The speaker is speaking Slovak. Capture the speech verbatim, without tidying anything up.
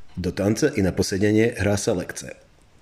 Do tance i na posedenie hrá sa lekce.